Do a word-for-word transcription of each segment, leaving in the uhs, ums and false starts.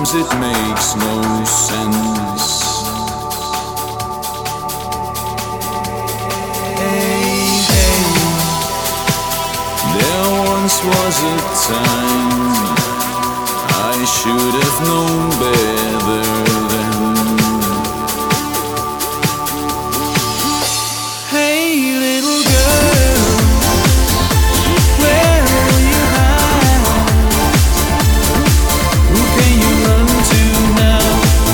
sometimes it makes no sense. Hey, hey, there once was a time I should have known better then. Hey, little girl, where will you hide? Who can you run to now?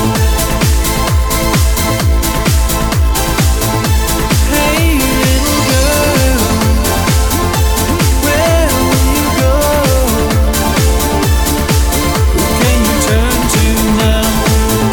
Hey, little girl, where will you go? Who can you turn to now?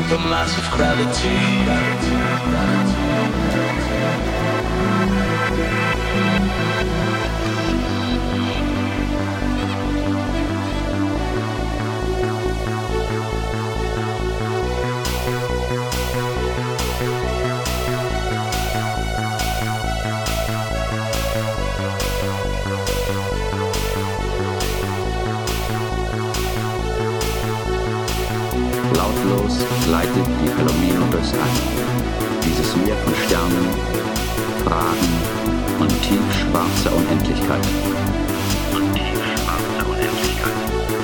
supermassive gravity. Lautlos gleitet die Palomino durchs All. Dieses Meer von Sternen, Fragen und tiefschwarzer Unendlichkeit. Und tiefschwarzer Unendlichkeit.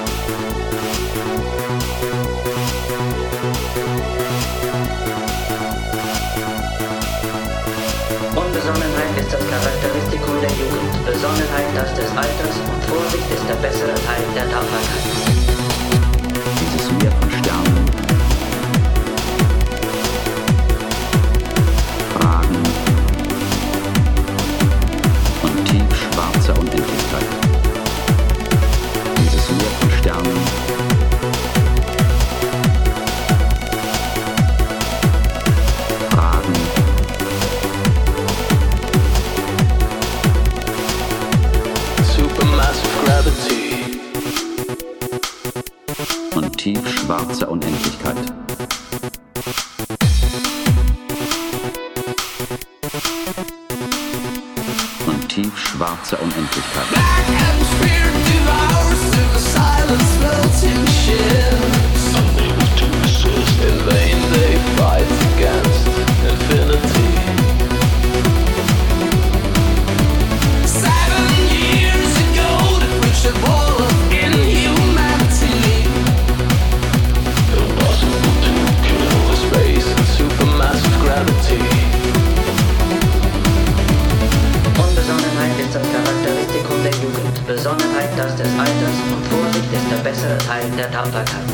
Unbesonnenheit ist das Charakteristikum der Jugend, Besonnenheit das des Alters und Vorsicht ist der bessere Teil der Tapferkeit. Dieses Meer von Sternen, Fragen und tiefschwarzer Unendlichkeit. Dieses Meer von Sternen, Fragen Supermassive gravity. und tiefschwarzer Unendlichkeit. Und tiefschwarzer Unendlichkeit. Black atmosphere devours through the silence, floating ships. Unable to resist, in vain they fight against infinity. Seven years ago, the reached the wall of inhumanity. Impossible to kill the space and supermassive gravity. Unbesonnenheit ist das Charakteristikum der Jugend, Besonnenheit das des Alters und Vorsicht ist der bessere Teil der Tapferkeit.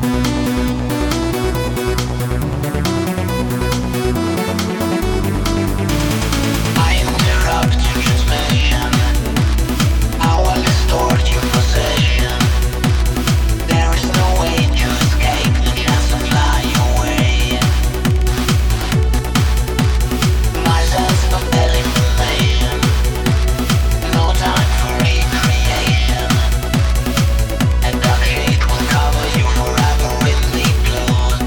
I interrupt your transmission. I will distort your possession. There is no way to escape the chance to fly away. My sense of elimination. No time for recreation. A dark shade will cover you forever in the blue.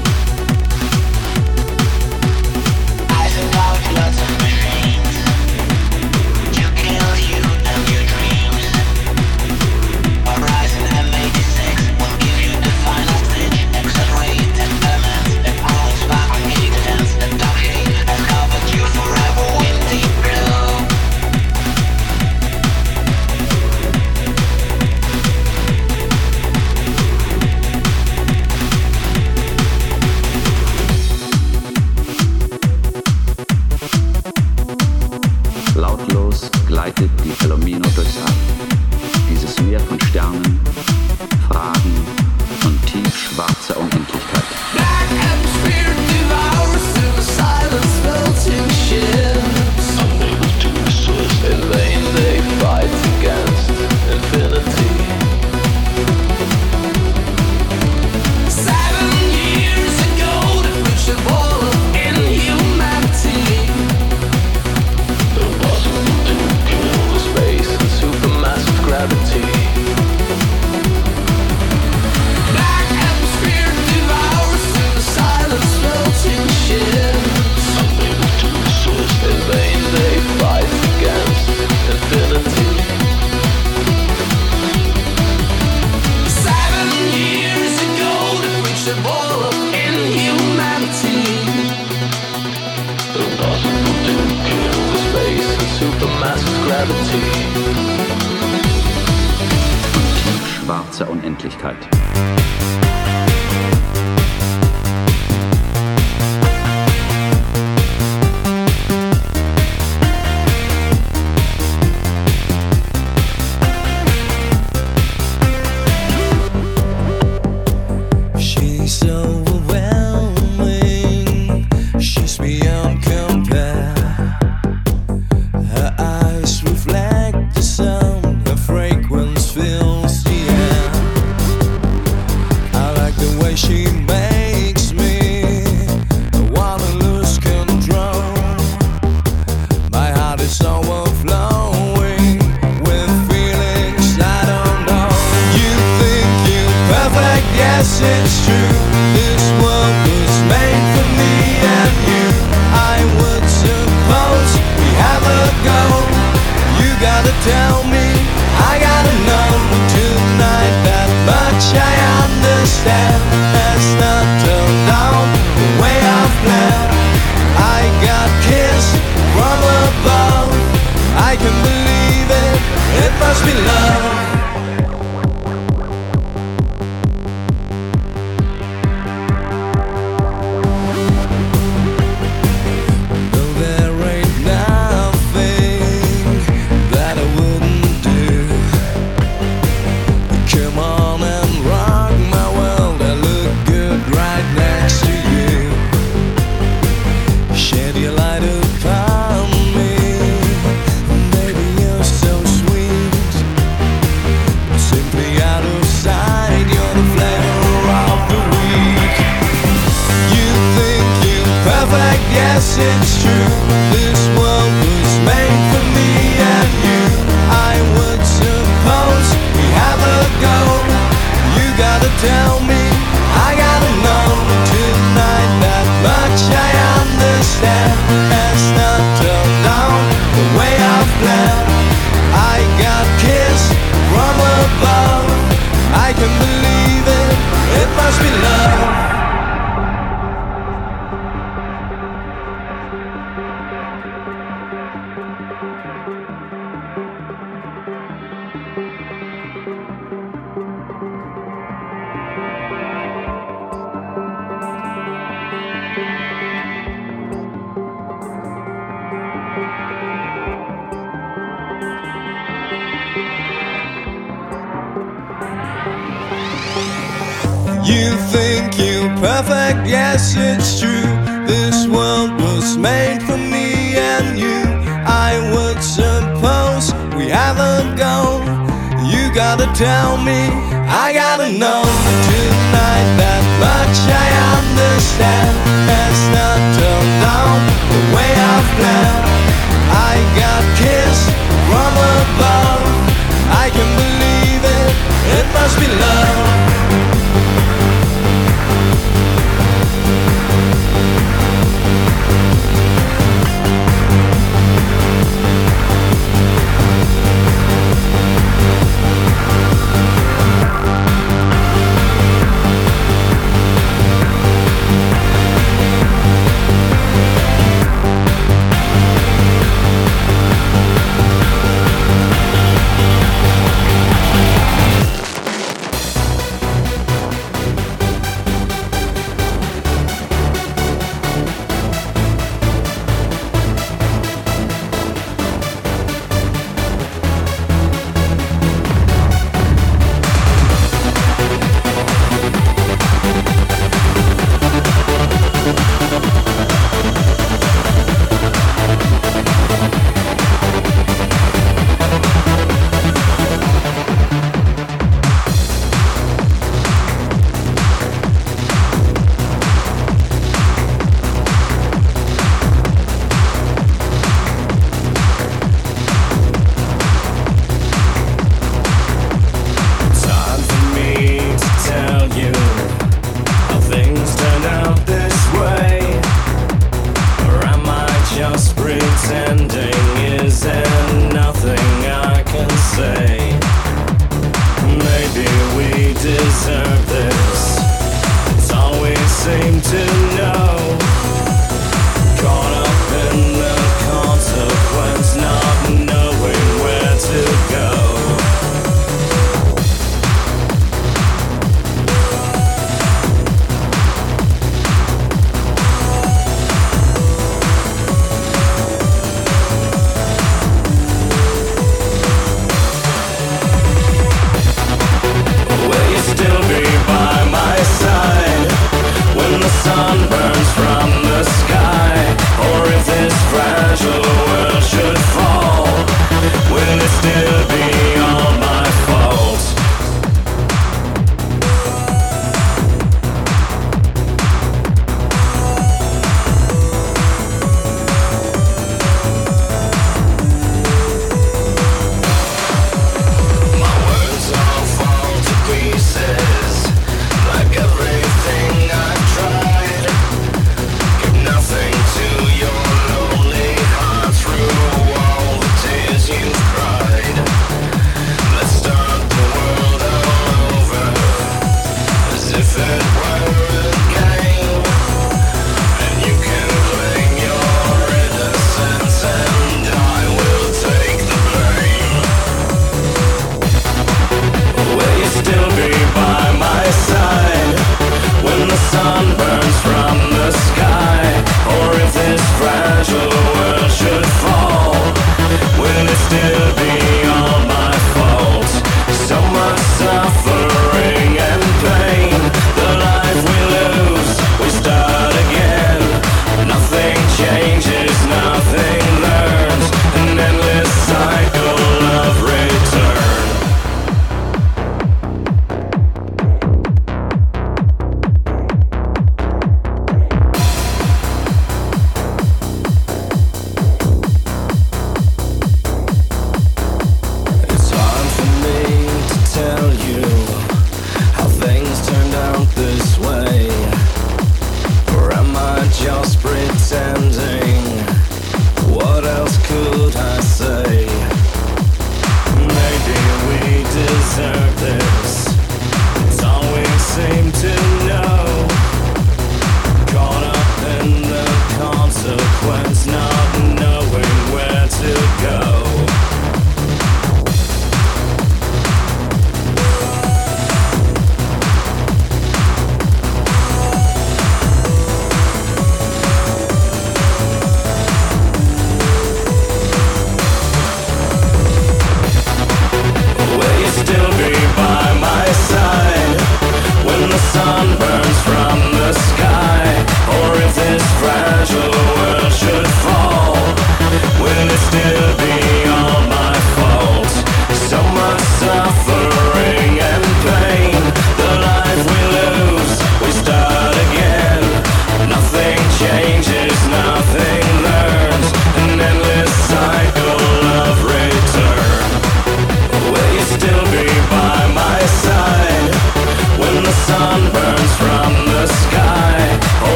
I send out lots of machines to kill you and your dreams. Horizon M eighty-six will give you the final stage. Accelerated elements that grows back on existence. The dark shade has covered you forever in deep blue. Lautlos gleitet die Palomino durchs All. Dieses Meer von Sternen, Fragen und tiefschwarzer Unendlichkeit. Black atmosphere devours through the silence, floating ships. Unable to resist, in vain they fight against infinity. Seven years ago, they reached the wall of inhumanity. Impossible to kill the space and supermassive gravity. Black atmosphere devours through the silence, floating ships. Unable to resist, in vain they fight against infinity. Seven years ago, they reached the wall of inhumanity. Impossible to kill the space and supermassive gravity. Tiefschwarzer Unendlichkeit. She's overwhelming. She's beyond compare. Her eyes reflect the sound. Her fragrance fills the air. I like the way she makes it's true. This world was made for me and you. I would suppose we have a go. You gotta tell me, I gotta know tonight that much I understand. It's not turned out the way I've planned. I got kissed from above. I can believe it, it must be love. You think you're perfect, yes it's true. This world was made for me and you. I would suppose we have a go. You gotta tell me, I gotta know tonight that much I understand. It's not turned out the way I've planned. I got kissed from above. I can believe it, it must be love.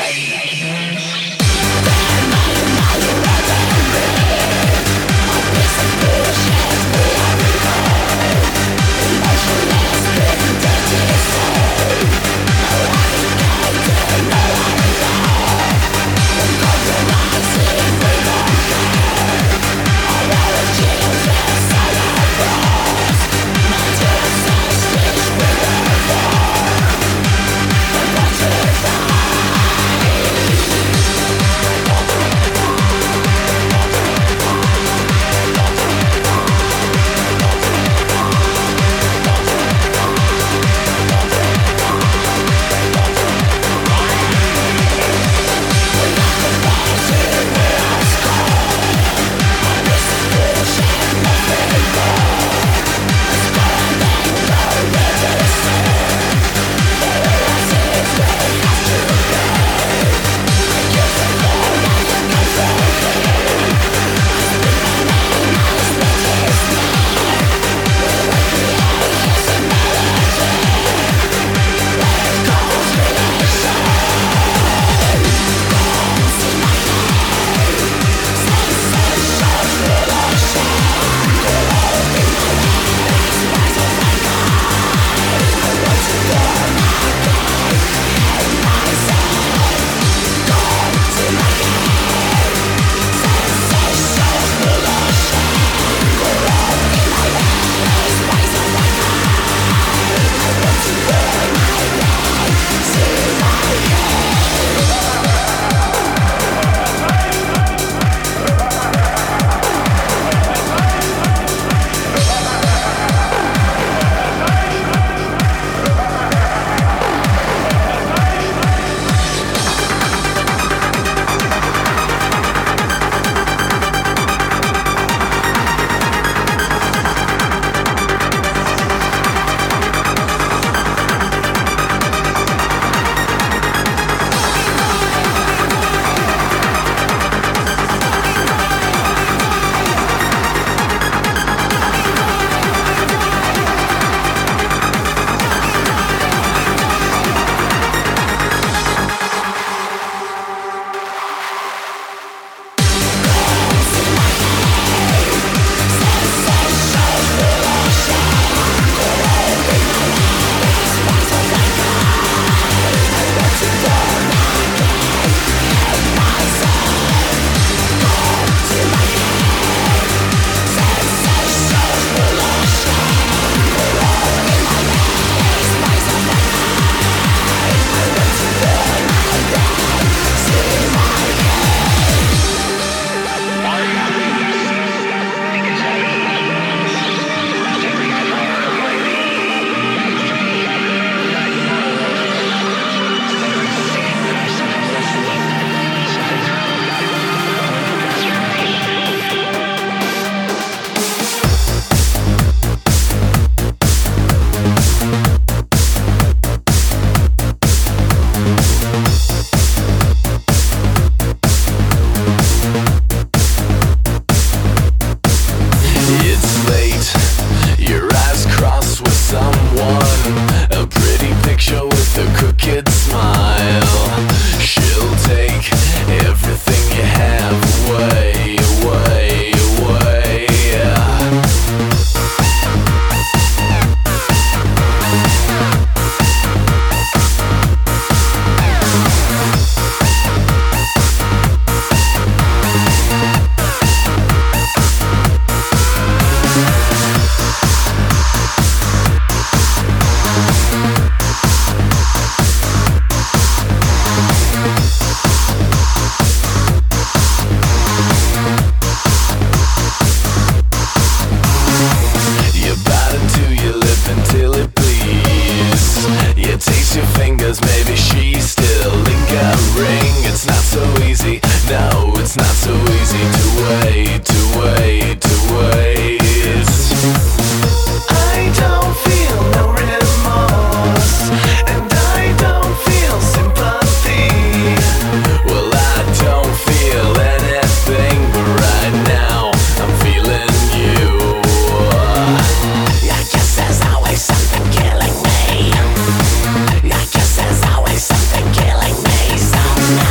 Some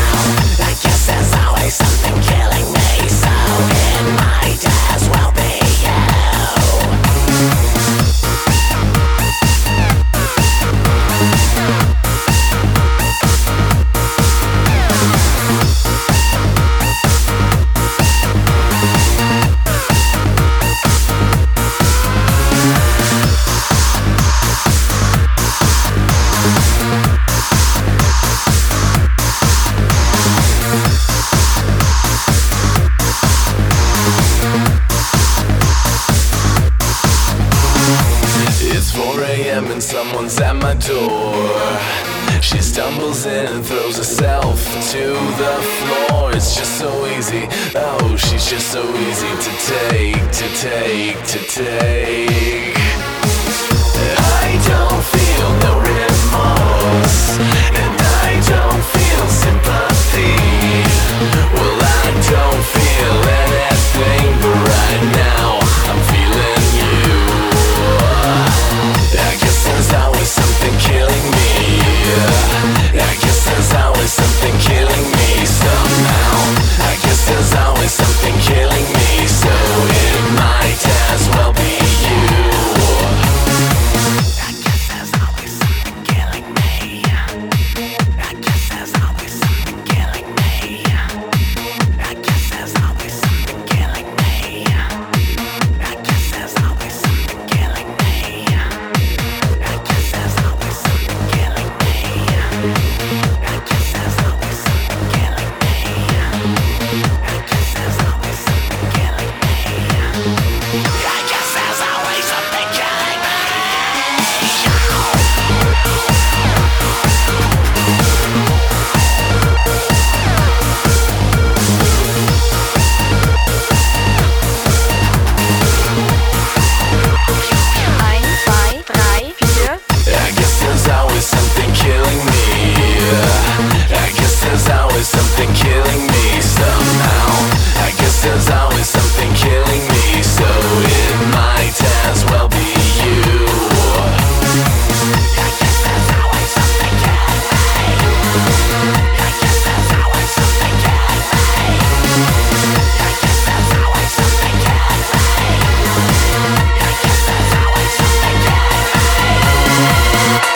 someone's at my door. She stumbles in and throws herself to the floor. It's just so easy, oh, she's just so easy to take, to take, to take. I don't feel no remorse, and I don't feel sympathy. Well, I don't feel anything, but right now I'm feeling you. I guess there's always something killing me. I guess there's always something killing me somehow. I guess there's always something killing me, so it might as well be you. I guess there's always something killing me. I guess there's always something killing me. I guess there's always something killing me. I guess there's always something killing me. I guess there's always something killing me. I guess there's always something killing me. I guess there's always something killing me. I guess there's always something killing me. Eins, zwei, drei, vier. I guess there's always something killing me. I guess there's always something killing me somehow. I guess there's always something killing me, so it might as well be you. I guess there's always something killing me. I guess there's always something killing me. I guess there's always something killing me. I guess there's always something killing me.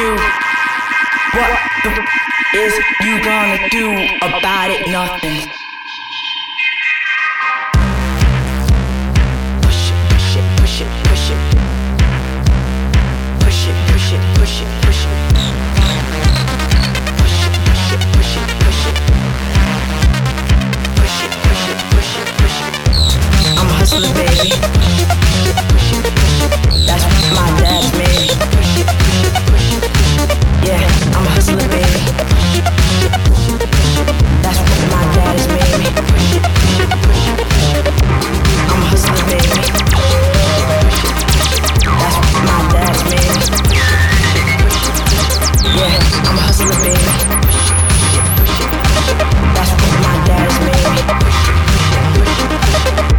do? What the f- is you gonna do about it? Nothing. Push it, push it, push it, push it. Push it, push it, push it, push it. Push it, push it, push it, push it. Push it, push it, push it, push it. I'm a hustler, baby. Push it, push it, push it, push it. That's what my dad's made. Push it, push it, push it, push it. Yeah, I'm a hustler, baby. Push it, push it, push it, push it. That's what my dad's made. Push it, push it, push it, push it. I'm a hustler, baby. Push it, push it, push it. That's what my dad's made. Yeah, I'm a hustler, baby. Push it, push it, push it, push it. That's what my dad's made. Push it, push it, push it, push it.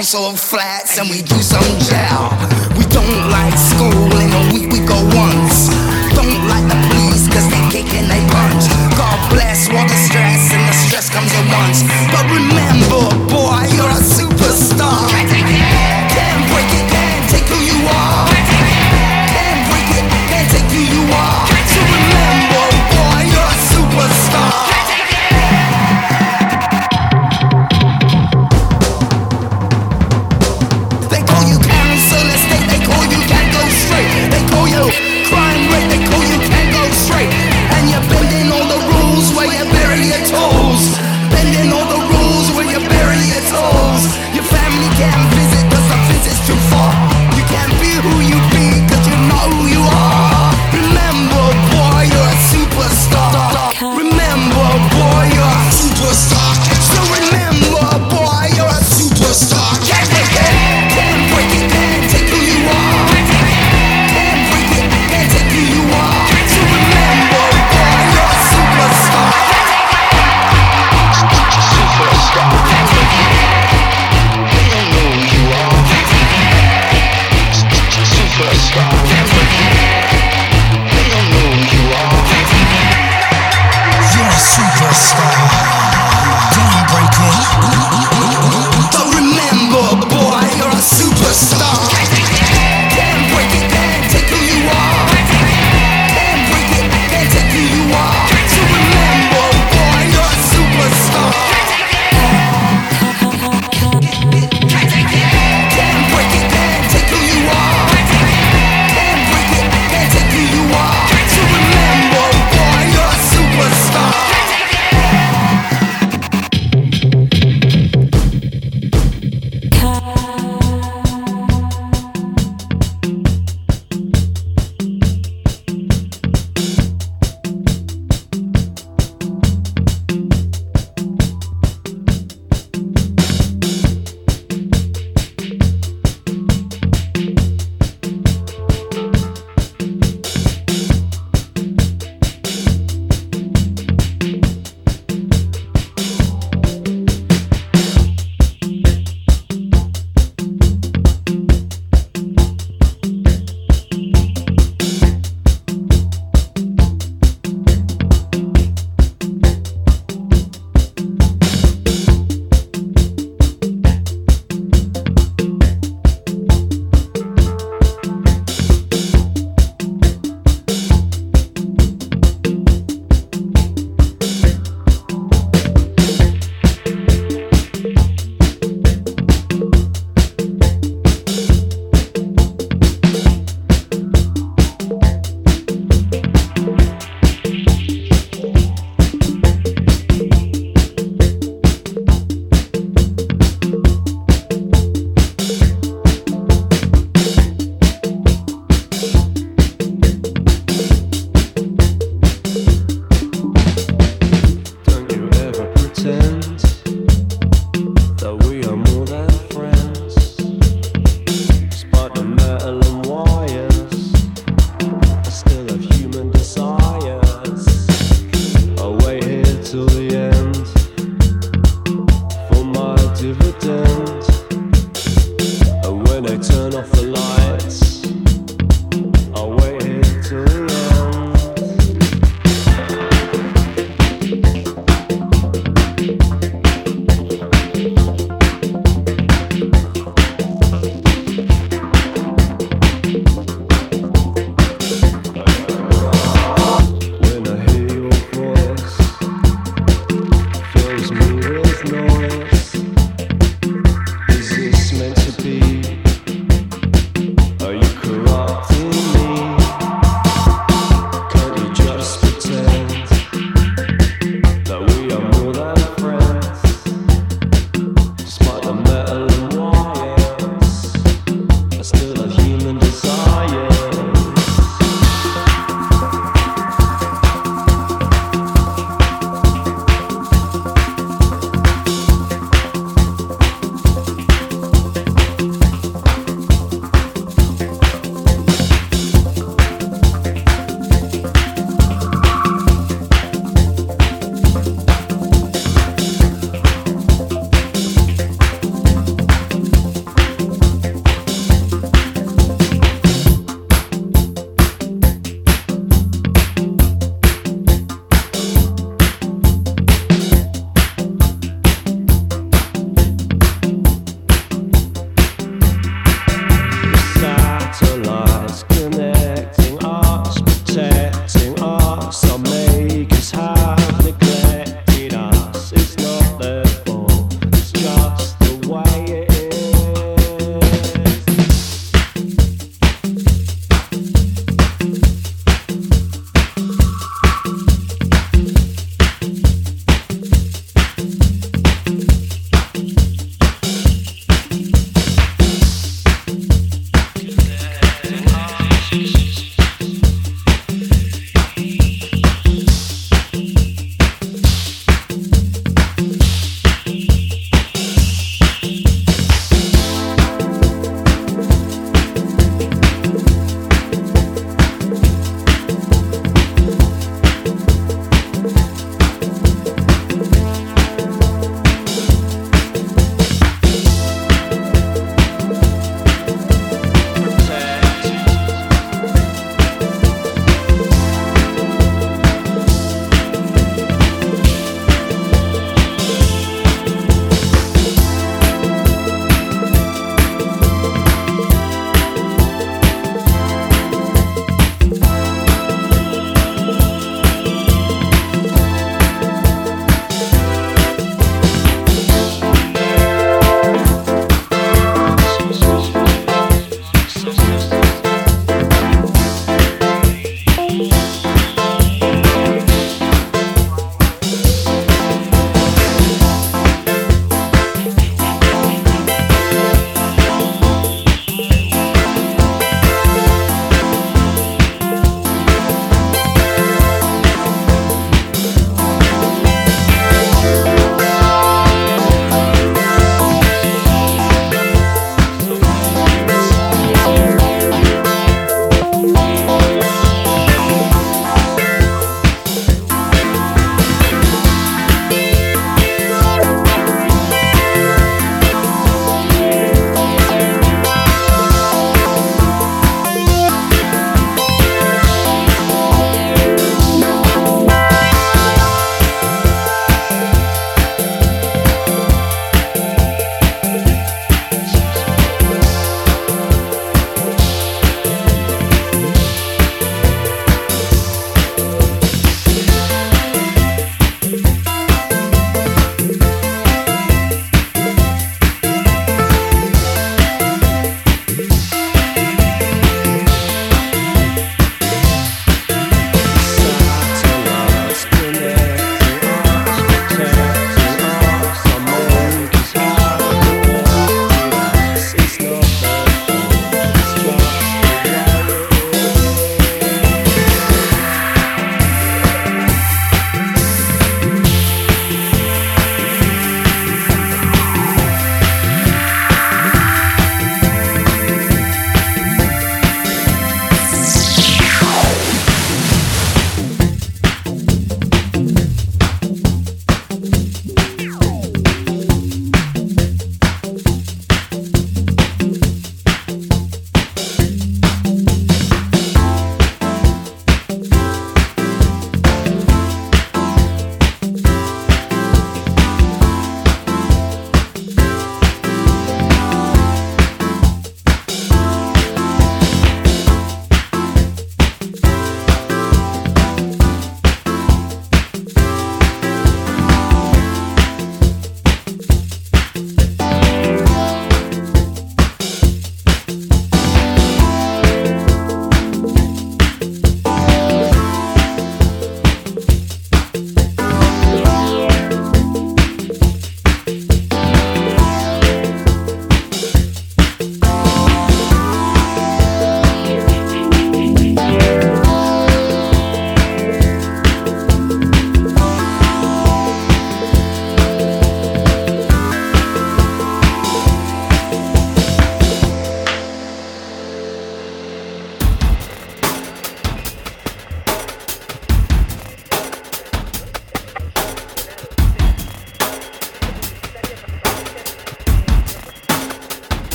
council of flats and we do some jail. We don't like school, in a week we go once. Don't like the police cause they kick and they punch. God bless all the stress and the stress comes at once. But remember, boy, you're a superstar. Can't break it, can't take who you are. Can't break it, can't take who you are. So remember, boy, you're a superstar. They call you council estate, they call you can't go straight. They call you crime rate, they call you can't go straight. And you're bending all the rules where you bury your toes. Bending all the rules where you bury your toes. Your family can't visit cause the visit's too far. You can't be who you be cause you know who you are. Remember, boy, you're a superstar. Remember, boy, you're a superstar. So remember, boy, you're a superstar. Can't break it, can't break it, can't take who you are. Can't break it, can't take who you are. So remember, boy, you're a superstar. Superstar. They don't know who you are. Superstar. They don't know who you are. You're a superstar. Don't break it. But remember, boy, you're a superstar. Can't break it, can't take who you are. Can't break it, can't take who you are. So remember, boy, you're a superstar. Can't break it, can't take who you are. Can't break it, can't take who you are. So remember, boy, you're a superstar.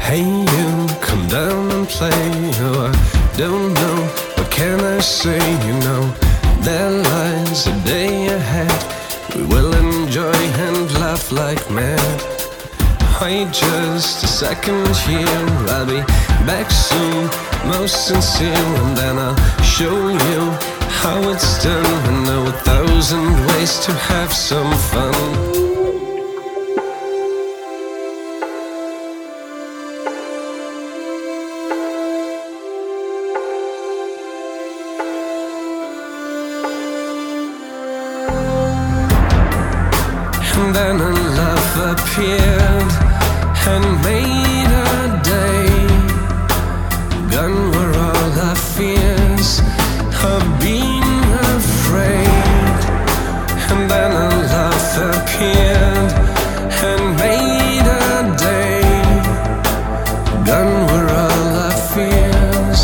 Hey you, come down and play. Oh, I don't know, what can I say? You know, there lies a day ahead. We will enjoy and laugh like mad. Wait just a second here, I'll be back soon, most sincere. And then I'll show you how it's done. I know a thousand ways to have some fun. And then a love appeared and made our day. Gone were all our fears of being afraid. And then a love appeared and made our day. Gone were all our fears.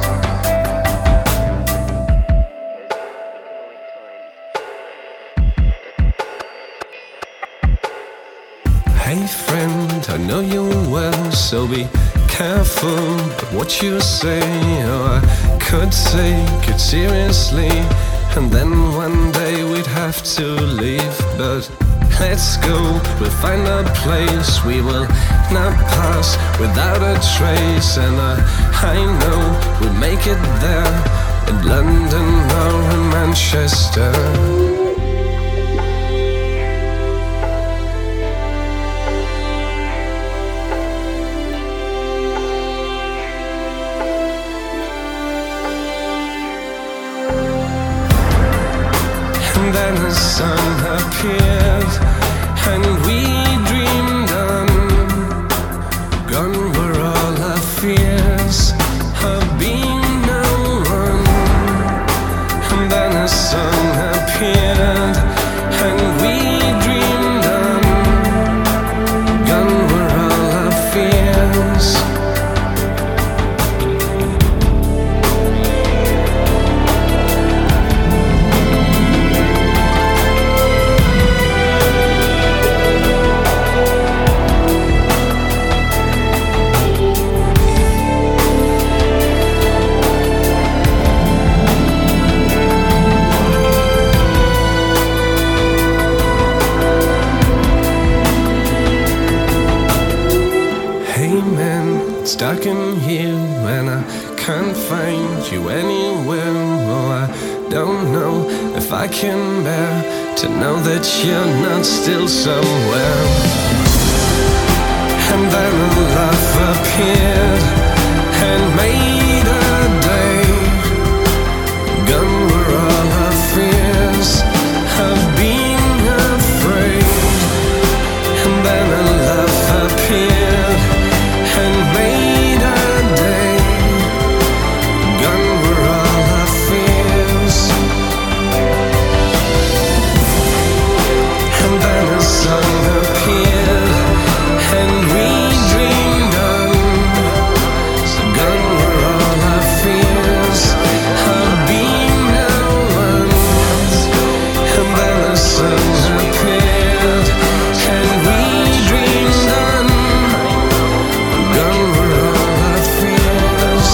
Hey friend, I know you well, so be careful of what you say. Oh, I could take it seriously, and then one day we'd have to leave. But let's go, we'll find a place we will not pass without a trace. And I, I know we'll make it there, in London or in Manchester. And then the sun appeared, and we dreamed on. Gone were all our fears of being no one. And then the sun appeared, and we dreamed on. Gone were all our fears. It's dark in here and I can't find you anywhere. Oh, I don't know if I can bear to know that you're not still somewhere. And then a laugh appeared and made a day. Gone were all our fears of being afraid. And then a laugh appeared and made a day. Gone were all our fears. And then a sun appeared and we dreamed on. So gone were all our fears of being no one. And then the sun appeared and we dreamed on. Gone were all our fears.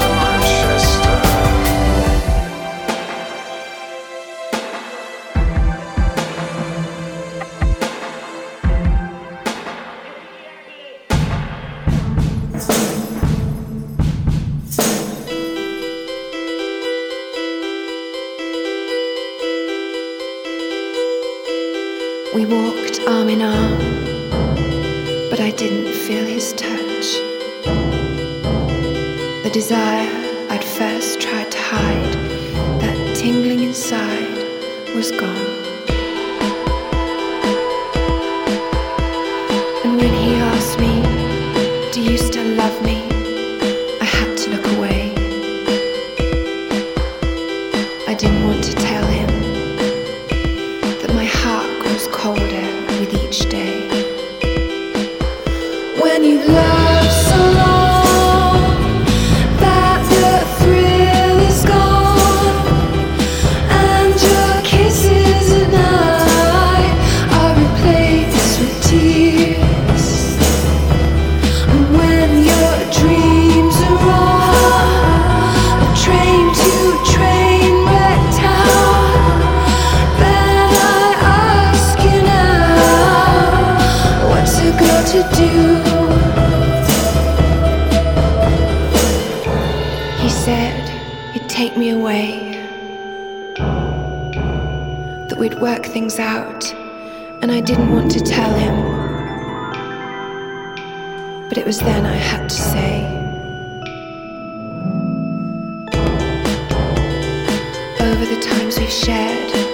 We walked arm in arm, but I didn't feel his touch. The desire I'd first tried to hide, that tingling inside, was gone. And when he asked me, "Do you still love me?" I had to look away. I didn't want to tell him that my heart grows colder with each day. When you love so long that the thrill is gone, and your kisses are to work things out, and I didn't want to tell him. But it was then I had to say. Over the times we've shared,